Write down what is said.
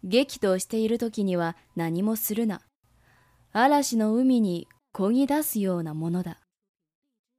激怒している時には何もするな。嵐の海に漕ぎ出すようなものだ。